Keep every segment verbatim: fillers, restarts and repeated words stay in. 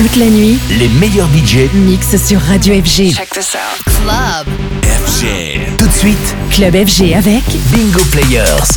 Toute la nuit, les meilleurs D J mixent sur Radio F G. Check this out. Club F G. Tout de suite, Club F G avec Bingo Players.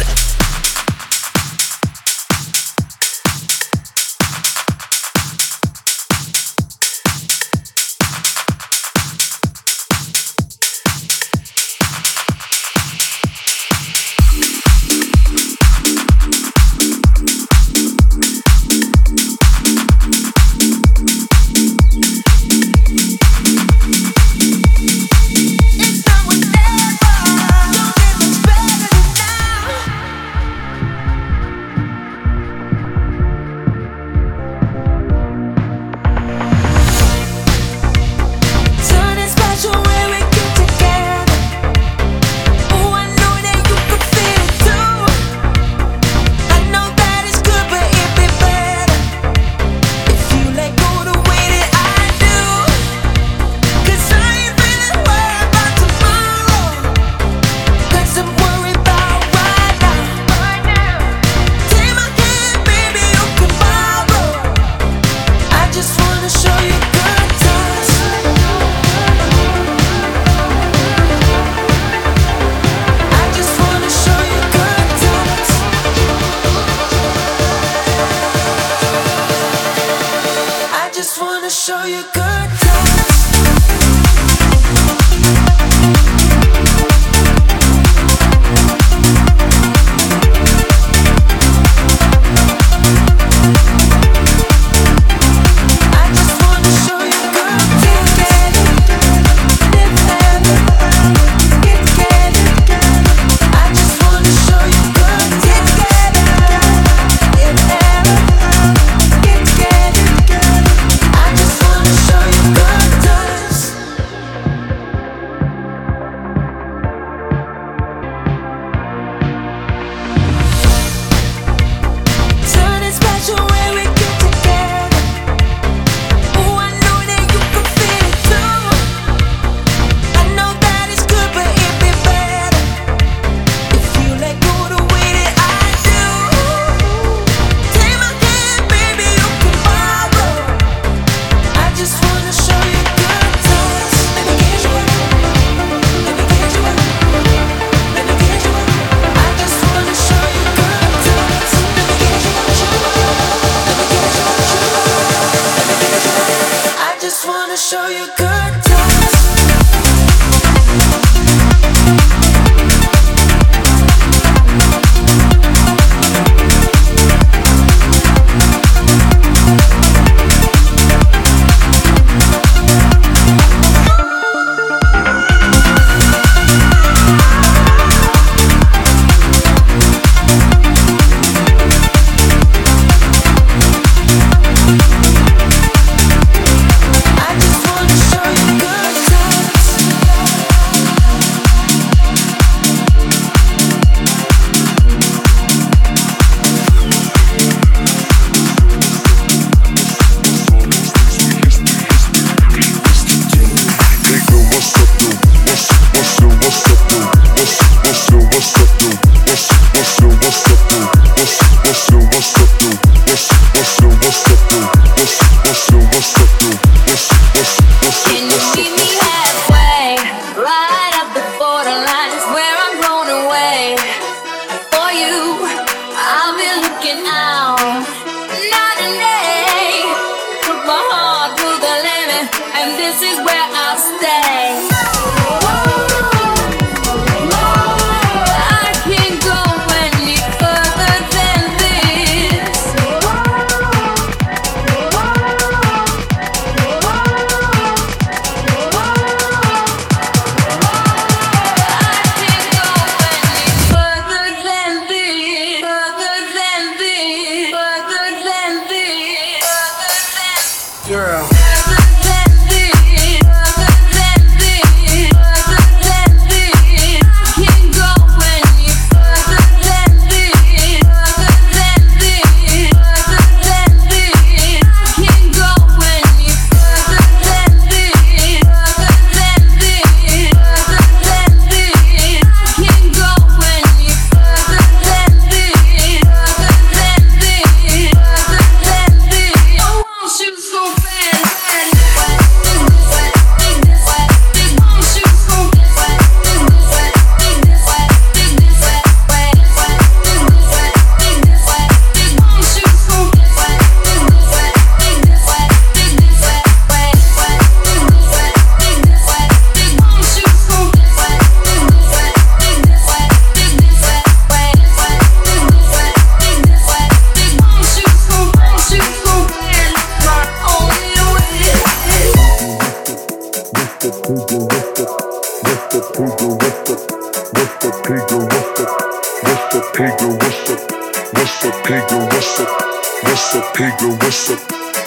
So bad.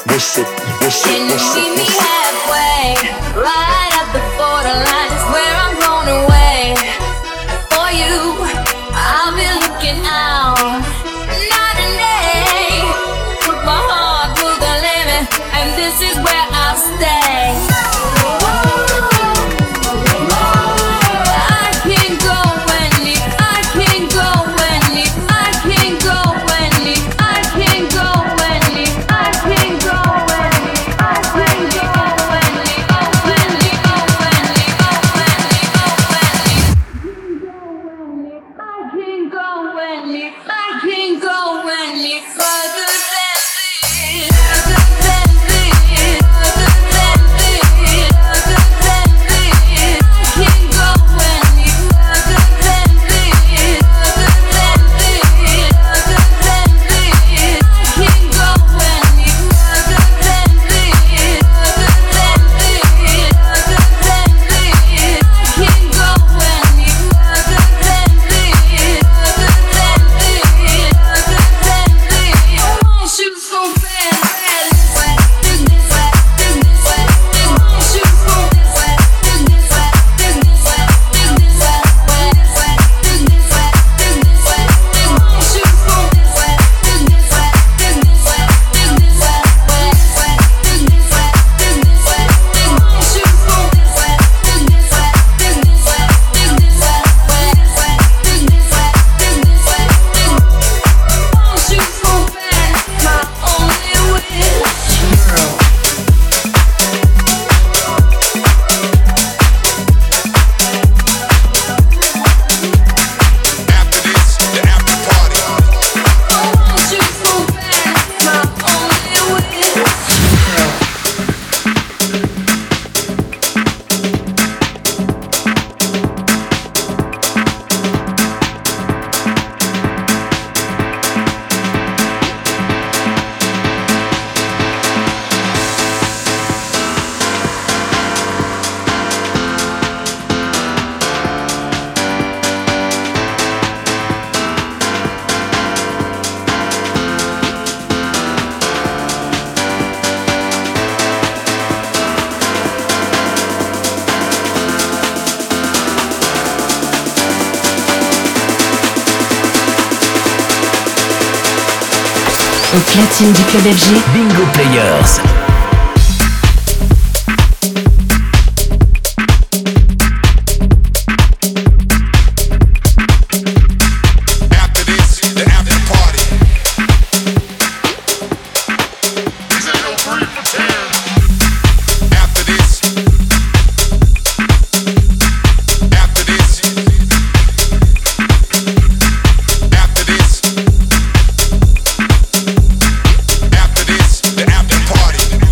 what's up, what's up, Can you what's up, meet me what's up? halfway? Right at the borderline is where I'm going away. For you, I'll be looking out night and day. Put my heart to the limit, and this is where I'll stay. I can't go any, I can't go any, I can't go any, I can't go any, I can't go any, I can't go any, oh any, oh any, oh any, oh any. I can't go any, I can't go any further than this, further than this, further than this, further than this. I can't go any further than this, further than this, further than this. I can't go any further than this, further than this, further than this. I can't go any further than this, further than this, further than this. I want you so bad, bad, wet, this, this, wet, this, this, wet, this. I want you so this, wet, this, this, wet, this, this, wet, this, this, wet, wet, wet, this, this, wet, this, this, wet. I want you so this, wet, this, this, wet, this, this, wet, this, this, wet, wet, wet, this, this, wet, this, this, wet. I want you so this, wet, this, this, wet, this, this, wet, this, this, wet, wet, wet, this, this, wet, this, this, wet. I want you so bad, my only wish. After this, the after party. I want you so bad, my only wish. Au platine du club F G, Bingo Players. After this, the after party. This ain't no free for ten. After this, after this, after this, after this, the after party.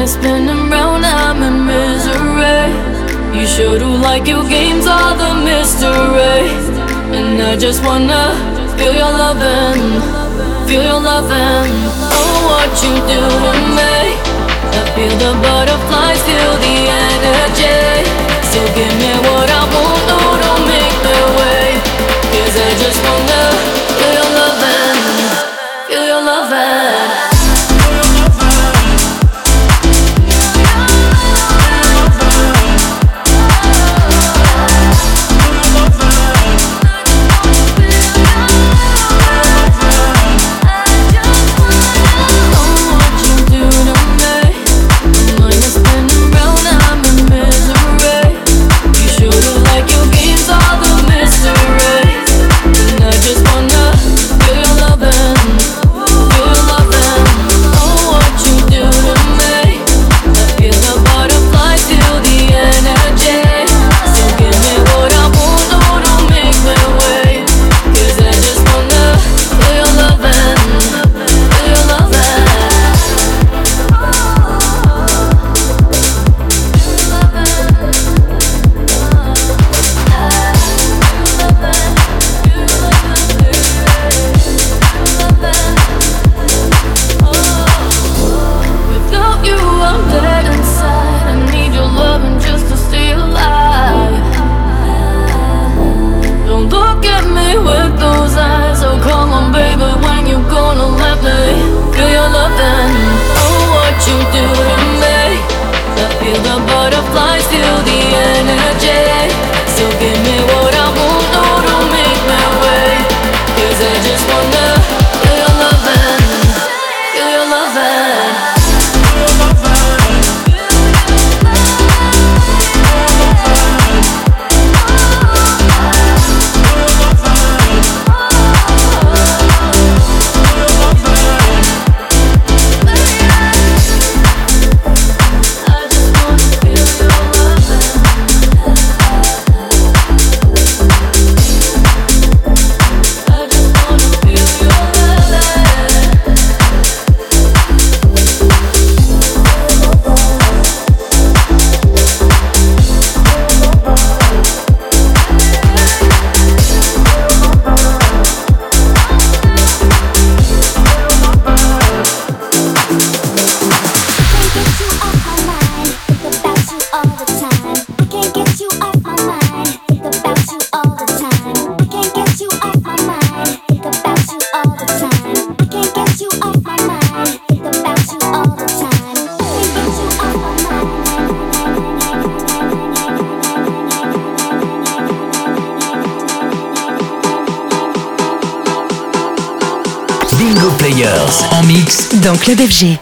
spinning round, I'm in misery. You sure do like your games, all the mystery. And I just wanna feel your lovin', feel your lovin'. Oh, what you do to me. I feel the butterflies, feel the energy. So give me what I want, no, don't make me wait. Cause I just wanna feel your lovin', feel your lovin'. Bingo Players en mix dans Club F G.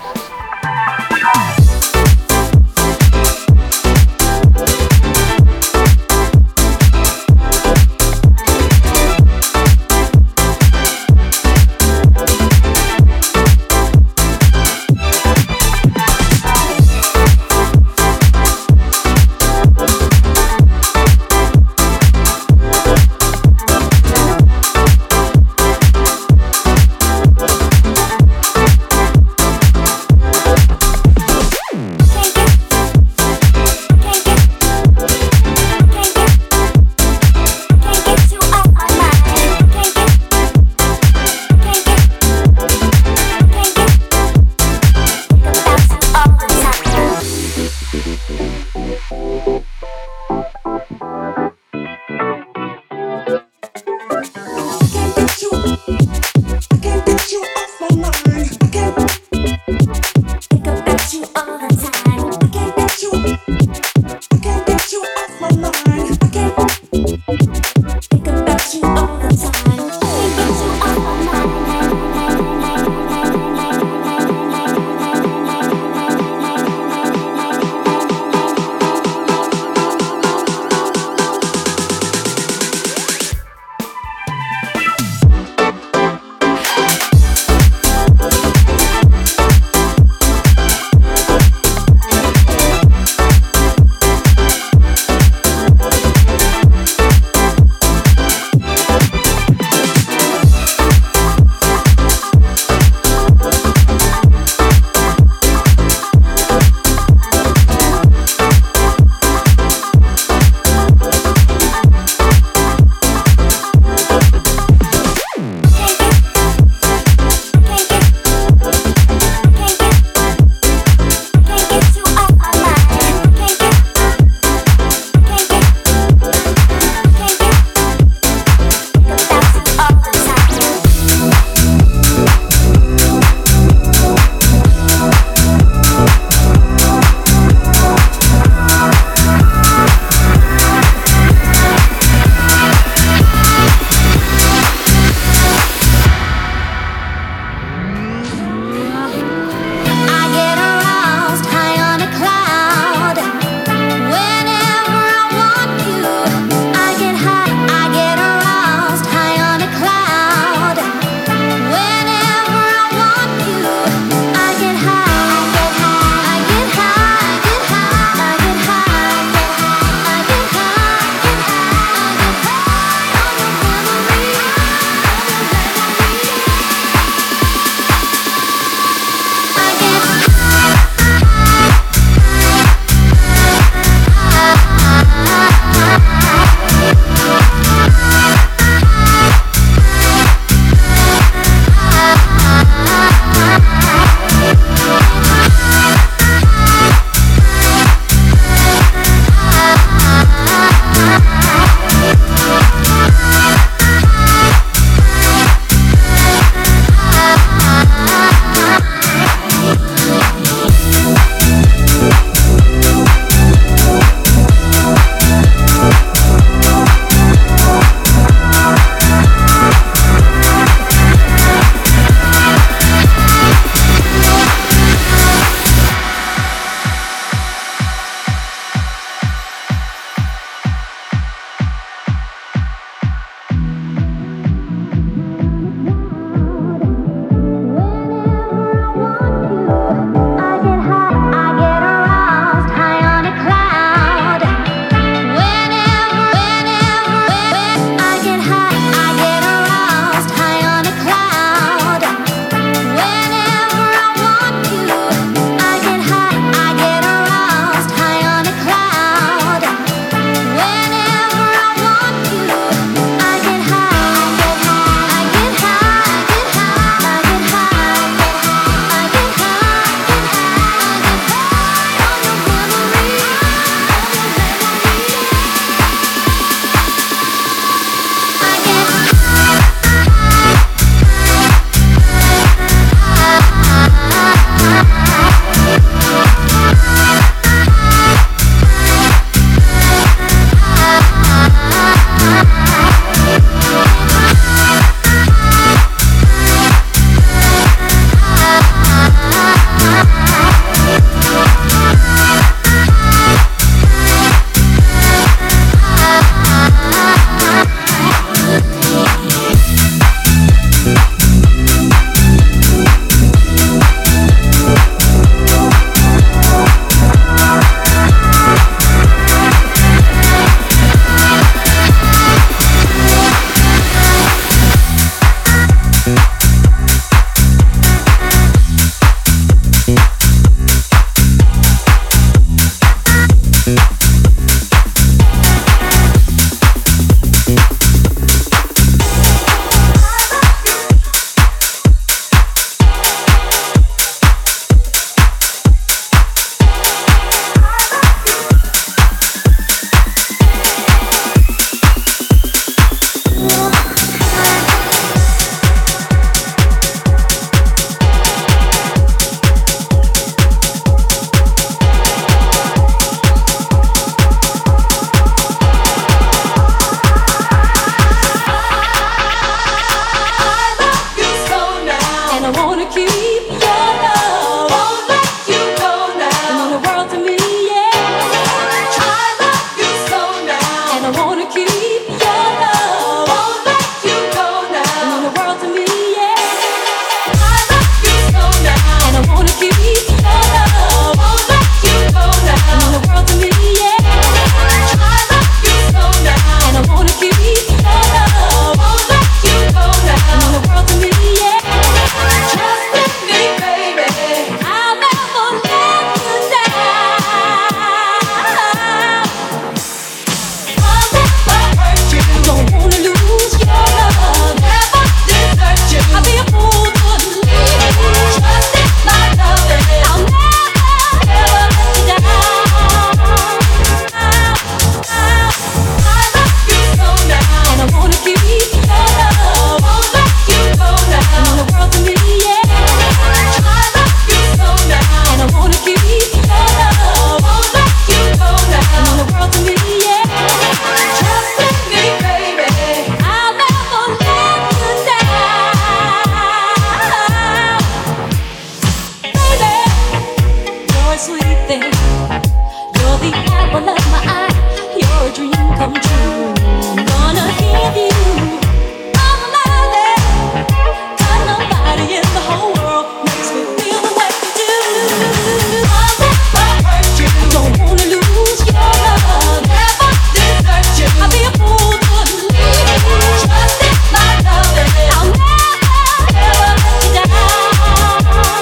everything. You're the apple of my eye. You're a dream come true. Gonna give you all of my love. Got nobody in the whole world makes me feel the way you do. I'll never hurt you. Don't wanna lose your love. Never desert you. I'll be a fool to leave you. Trust in my love. I'll never, ever let you down.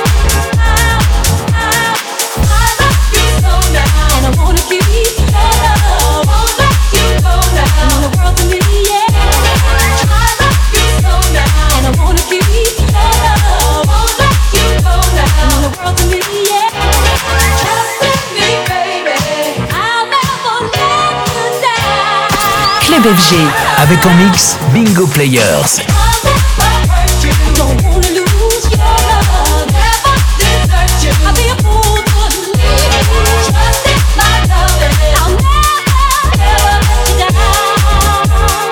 I, I, I love you so now, and I wanna keep your love. Won't let you go now. You mean the world to me, yeah. I love you so now, and I wanna keep your love. Won't let you go now. You mean the world to me, yeah. Trust in me, baby. I'll never let you down. Club F G. Avec en mix Bingo Players. Don't wanna lose your love, never desert you. I'll be a fool to leave you. Trust in my love, I'll never, ever let you down.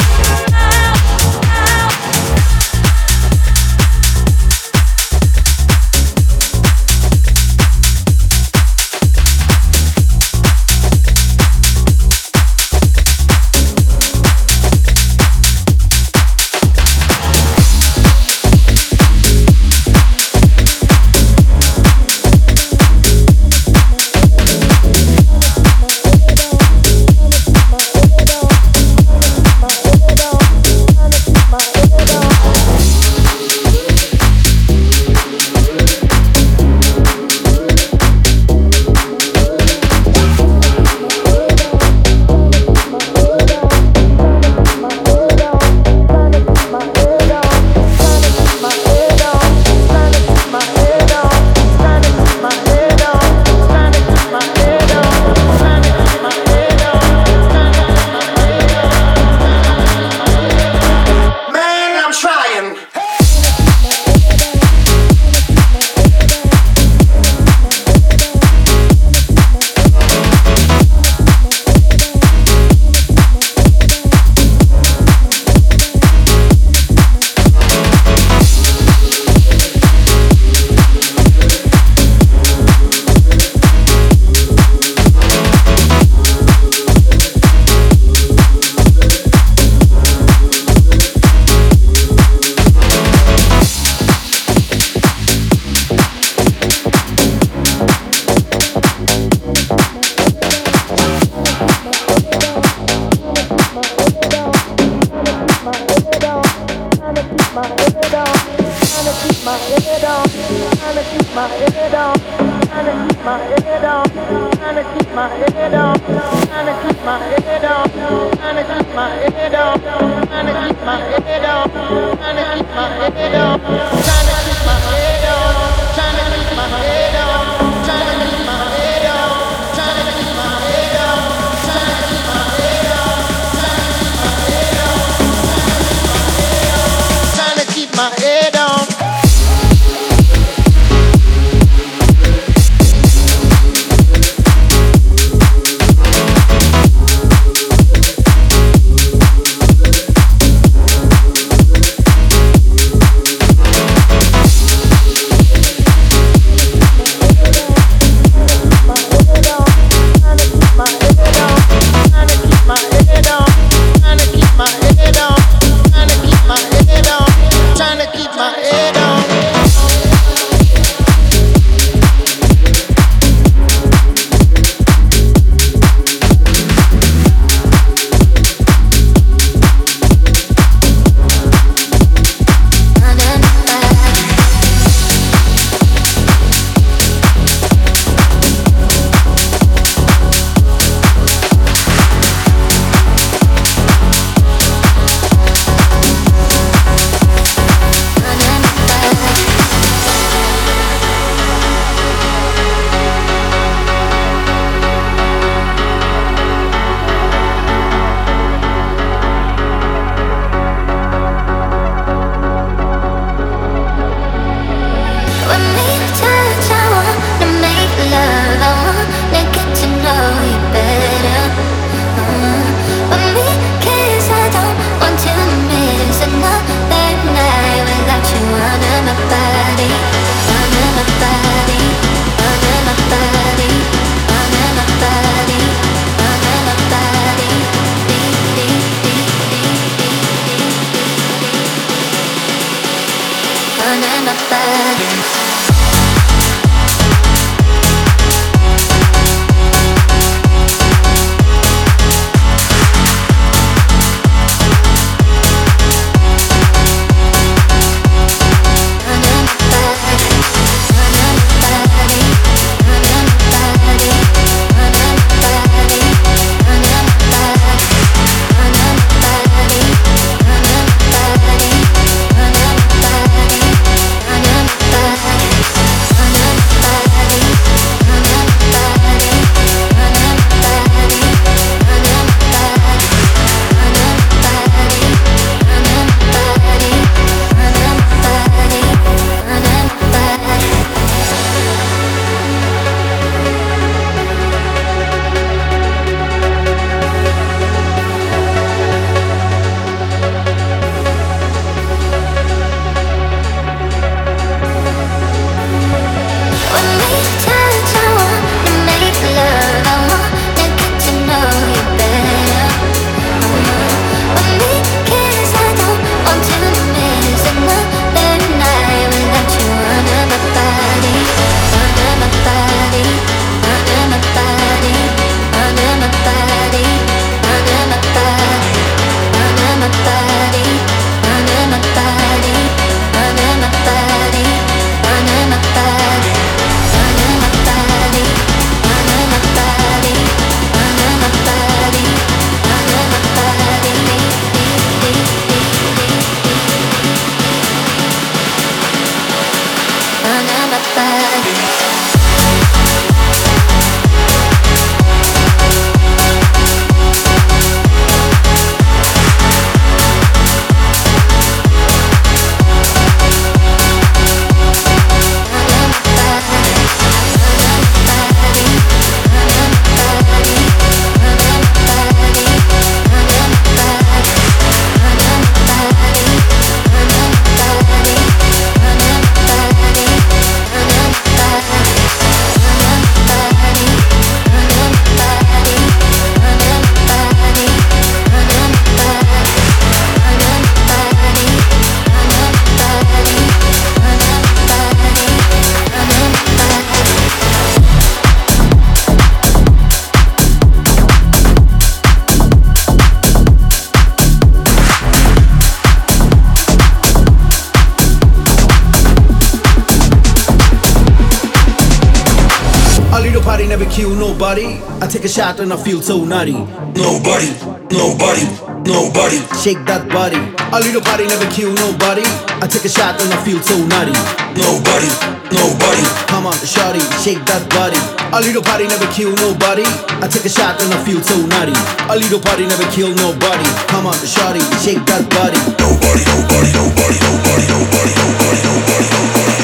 kill nobody. I take a shot and I feel so nutty. Nobody, nobody, nobody. Shake that body. A little body never kill nobody. I take a shot and I feel so nutty. Nobody, nobody. Come on, shawty, shake that body. A little body never kill nobody. I take a shot and I feel so nutty. A little body never kill nobody. Come on, shawty, shake that body. Nobody, nobody, nobody, nobody, nobody, nobody, nobody, nobody.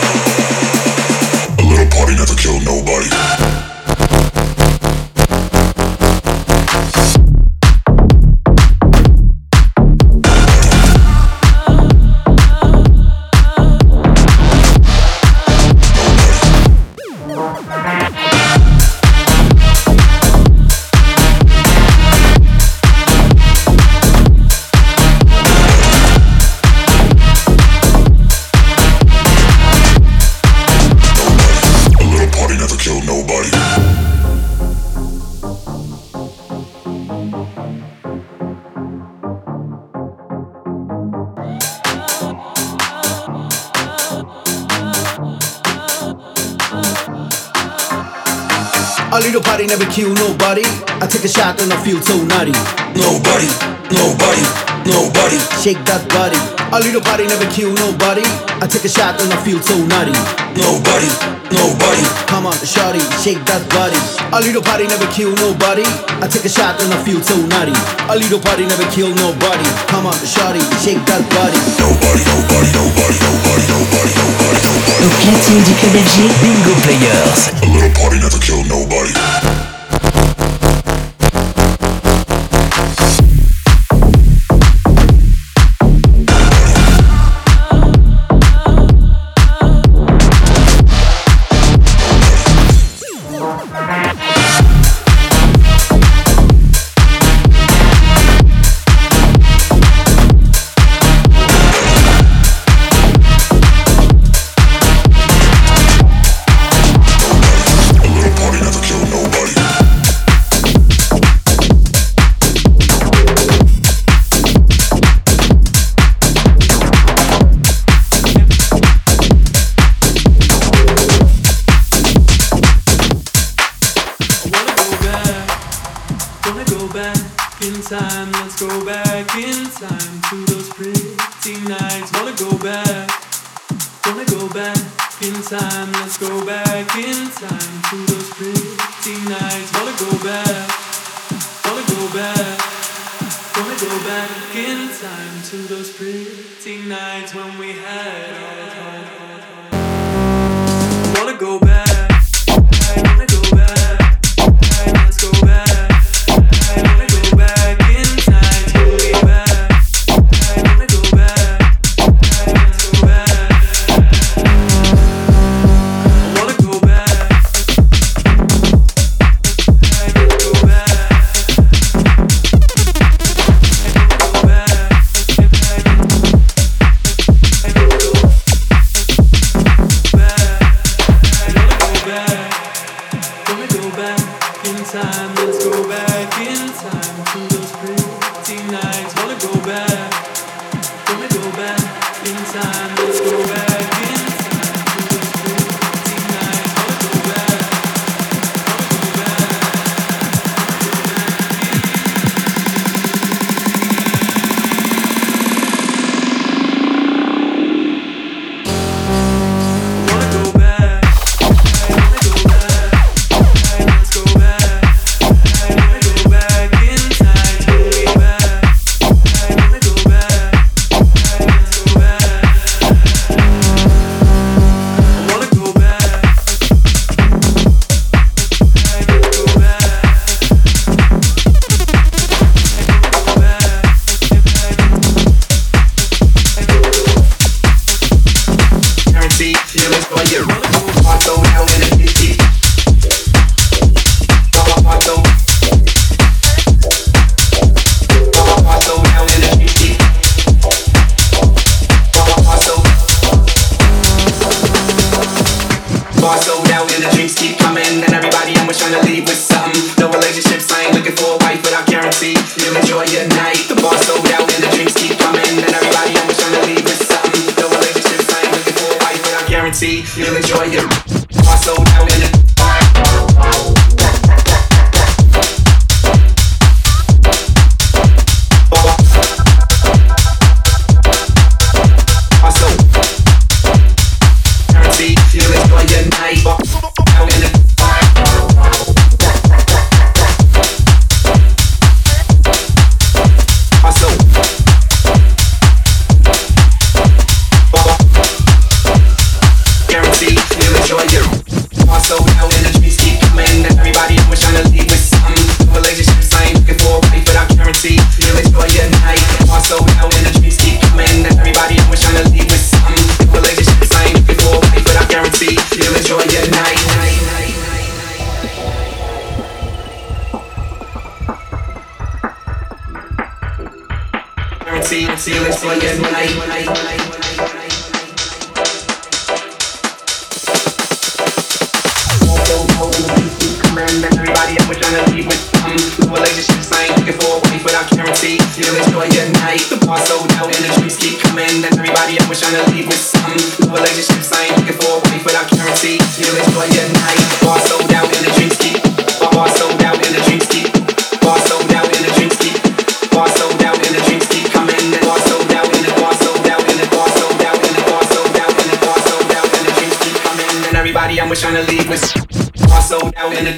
A little party never killed nobody. A little body never kill nobody. I take a shot and I feel so nutty. Nobody, nobody, nobody. Shake that body. A little body never kill nobody. I take a shot and I feel so nutty. Nobody, nobody. Come on, shawty, shake that body. A little body never kill nobody. I take a shot and I feel so nutty. A little body never kill nobody. Come on, shawty, shake that body. Nobody, nobody, nobody, nobody, nobody, nobody, nobody. Au platine du club F G, Bingo Players. A little party never kill nobody. You'll enjoy it. My soul down in it. guarantee. Feelings for your night. And everybody I was trying to leave with some new relationships I ain't looking for a wife without guarantee. You'll enjoy your night. The bar sold out and the drinks keep coming. And everybody I was trying to leave with some new relationships I ain't looking for a wife without guarantee. You'll enjoy your night. The bar sold out and the drinks keep. Bar bar sold out and the drinks keep. Bar sold out and the drinks keep. Bar sold out and the drinks keep coming. And bar sold out and the bar sold out and the bar sold out and the bar sold out and the bar sold out and the drinks keep coming. And everybody I was trying to leave with. Bar sold out and the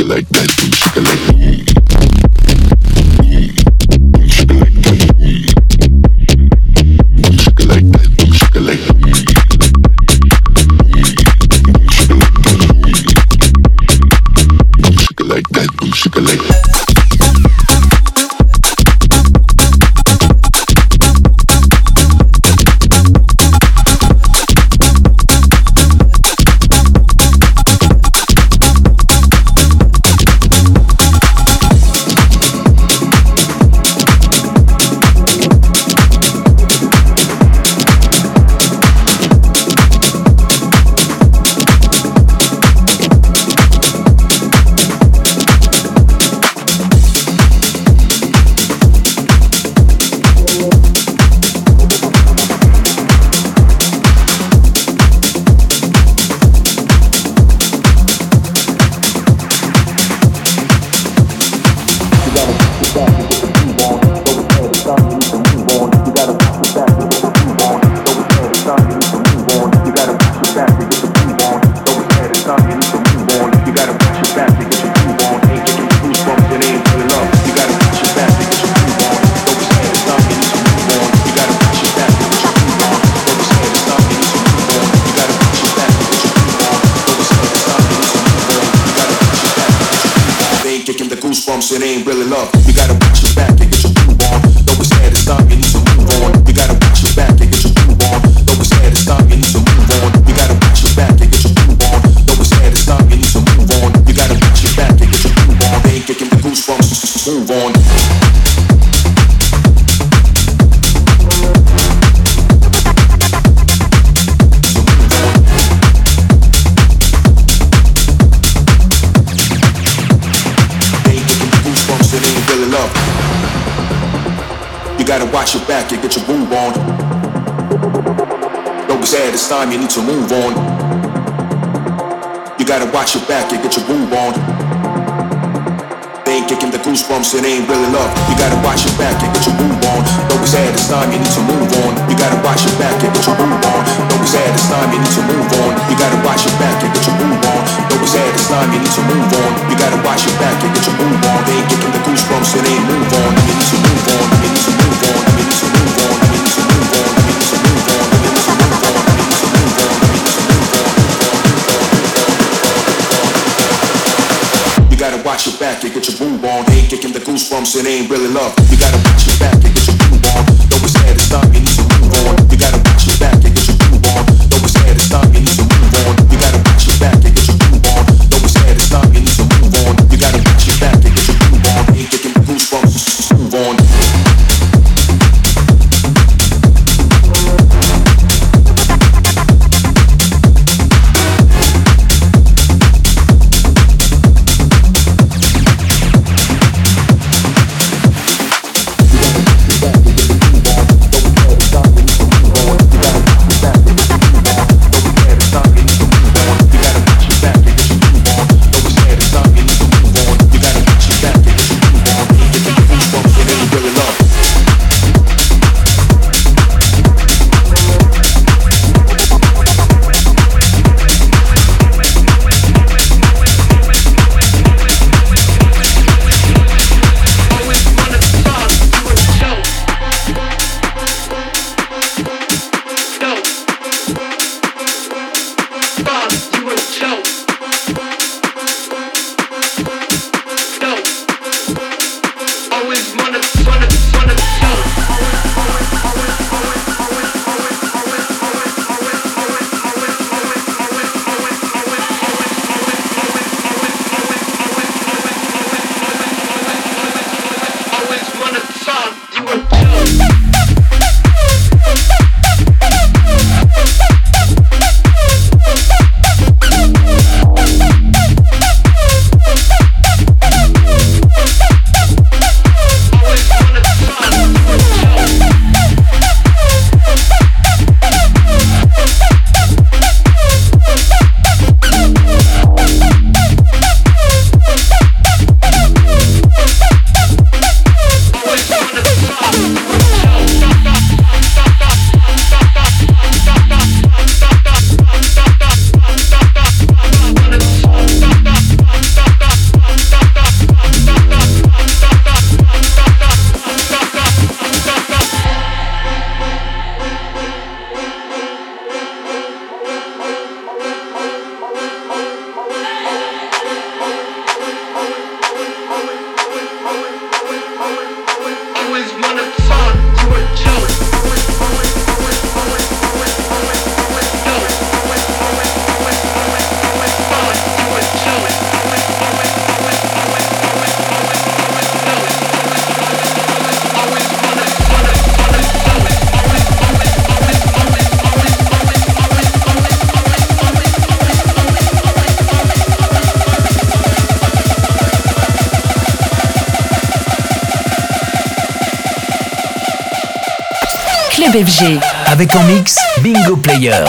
like that, boom, shake it like that. It ain't really love. You gotta watch your back and get your groove on. Though it's sad, it's time you need to move on. You gotta watch your back and get your groove on. Though it's sad, it's time you need to move on. You gotta watch your back and get your groove on. Though it's sad, it's time you need to move on. You gotta watch your back and get your groove on. They ain't kicking the goosebumps. Move on. Gotta watch your back and get your groove on. Though it's sad, it's time you need to move on. You gotta watch your back and get your groove on. They ain't kicking the goosebumps, it ain't really love. You gotta watch your back and get your groove on. Though it's sad, it's time you need to move on. You gotta watch your back and get your groove on. Though it's sad, it's time you need to move on. You gotta watch your back and get your groove on. Though it's sad, it's time you need to move on. You gotta watch your back and get your groove on. They ain't kicking the goosebumps, it ain't move on. You need to move on. You need to move on. You need to move on. You need to move on. You need to move on. You need to move on. You need to move on. You need to move on. You gotta watch your back and get your groove on. They ain't kicking the goosebumps, it ain't really love. You gotta watch your back and get your groove on. Though it's sad, it's time you need to move on. You gotta watch your back and get your groove on. Though it's sad, it's time you need to move on. You gotta watch your back and get your groove on. Though it's sad, it's time you need to move on. You gotta watch your back and get your groove on. They ain't kicking the goosebumps. Move on. You gotta Club F G. Avec en mix Bingo Players.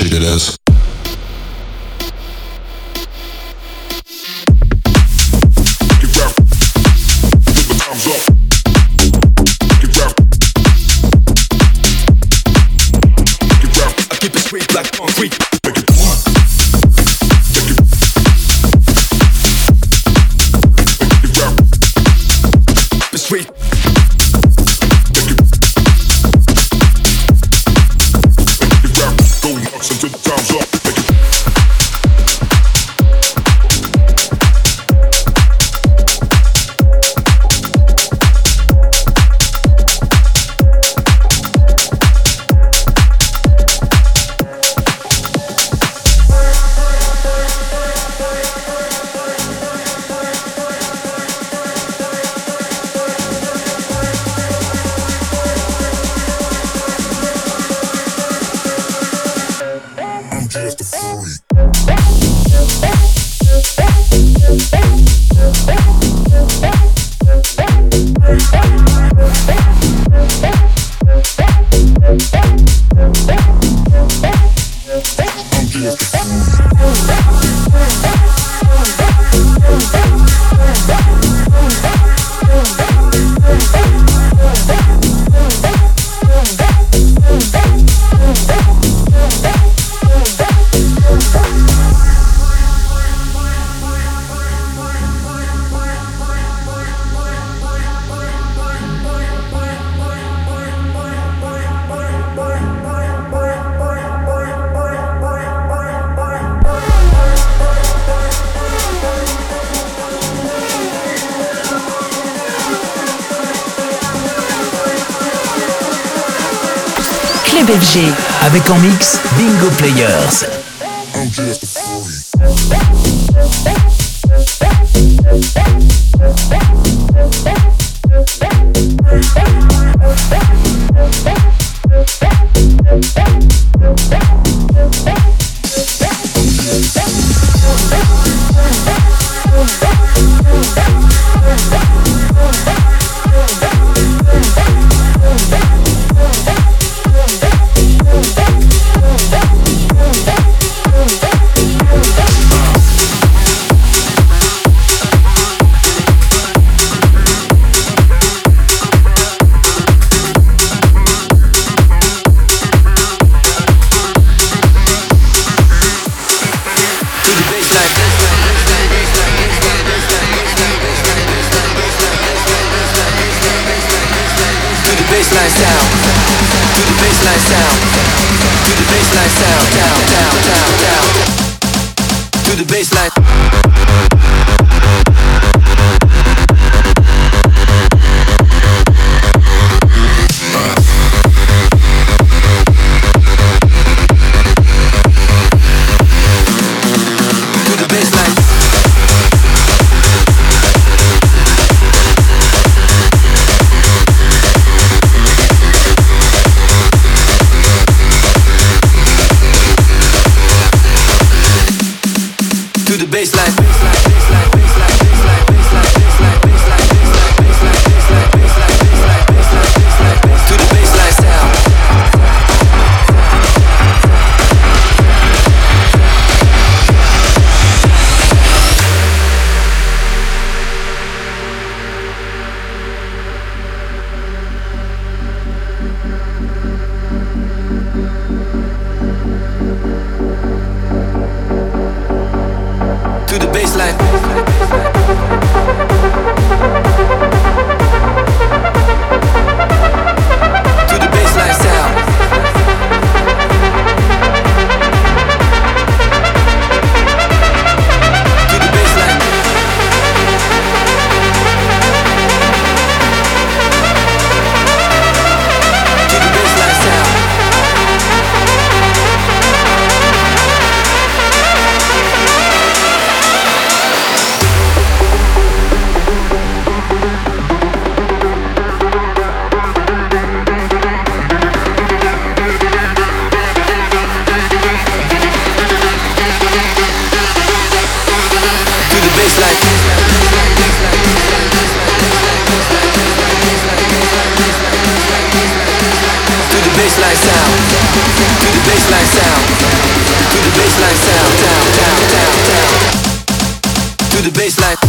shake that ass. Get rap. Put the times up. Get rap. Get rap. I keep it straight like concrete. Make it move. Make it. Make it rap. Be straight. Until the time's up. Make it. Just a freak. I'm just a Club F G. Avec en mix Bingo Players. I'm just a freak. baseline sound, to the baseline sound, to the baseline sound, down, down, down, down, to the baseline. baseline.